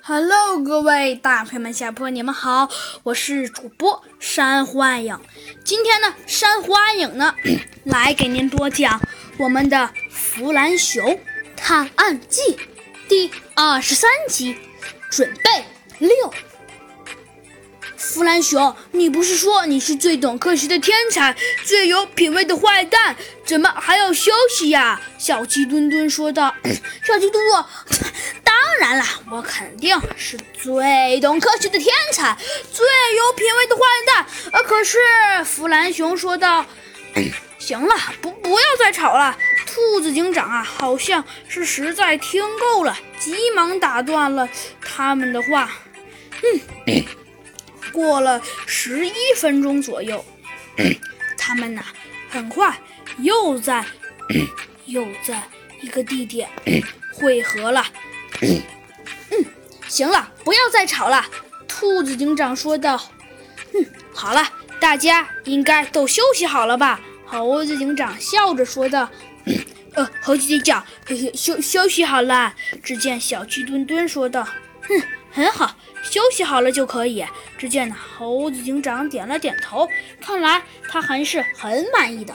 Hello， 各位大朋友们、小朋友们，你们好，我是主播珊瑚暗影。今天呢，珊瑚暗影呢来给您多讲我们的《弗兰熊探案记》第23集，准备6。弗兰熊，你不是说你是最懂科学的天才，最有品味的坏蛋，怎么还要休息呀？小鸡墩墩说道。小鸡墩墩，当然了，我肯定是最懂科学的天才，最有品味的坏蛋。可是弗兰熊说道。行了，不要再吵了。兔子警长啊，好像是实在听够了，急忙打断了他们的话。过了11分钟左右，他们呢很快又在一个地点汇合了。行了，不要再吵了，兔子警长说道。好了，大家应该都休息好了吧？猴子警长笑着说道。猴子警长休息好了。只见小鸡墩墩说道。很好，休息好了就可以。只见猴子警长点了点头，看来他还是很满意的。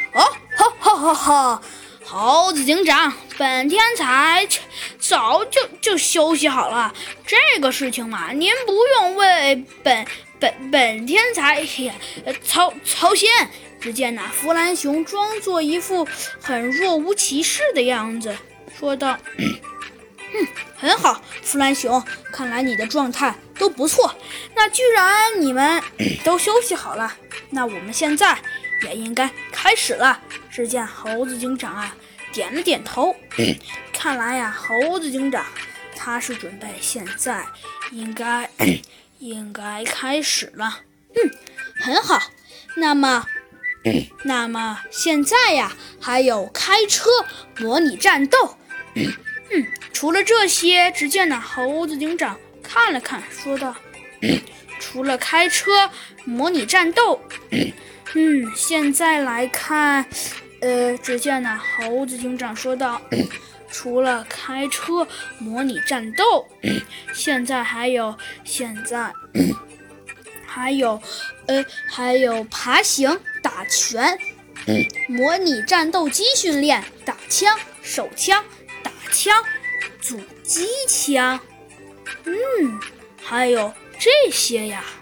猴子警长，本天才早就休息好了，这个事情嘛，您不用为本天才操心。只见弗兰熊装作一副很若无其事的样子，说道。很好，弗兰熊，看来你的状态都不错。那既然你们都休息好了，那我们现在也应该开始了。只见猴子警长啊点了点头。看来呀，猴子警长他是准备现在应该开始了。很好。那么现在呀，还有开车模拟战斗。除了这些，只见猴子警长看了看，说道。除了开车模拟战斗，现在来看，只见猴子警长说道。除了开车模拟战斗，现在还有爬行、打拳，模拟战斗机训练，打枪、手枪、打枪、阻击枪，还有这些呀。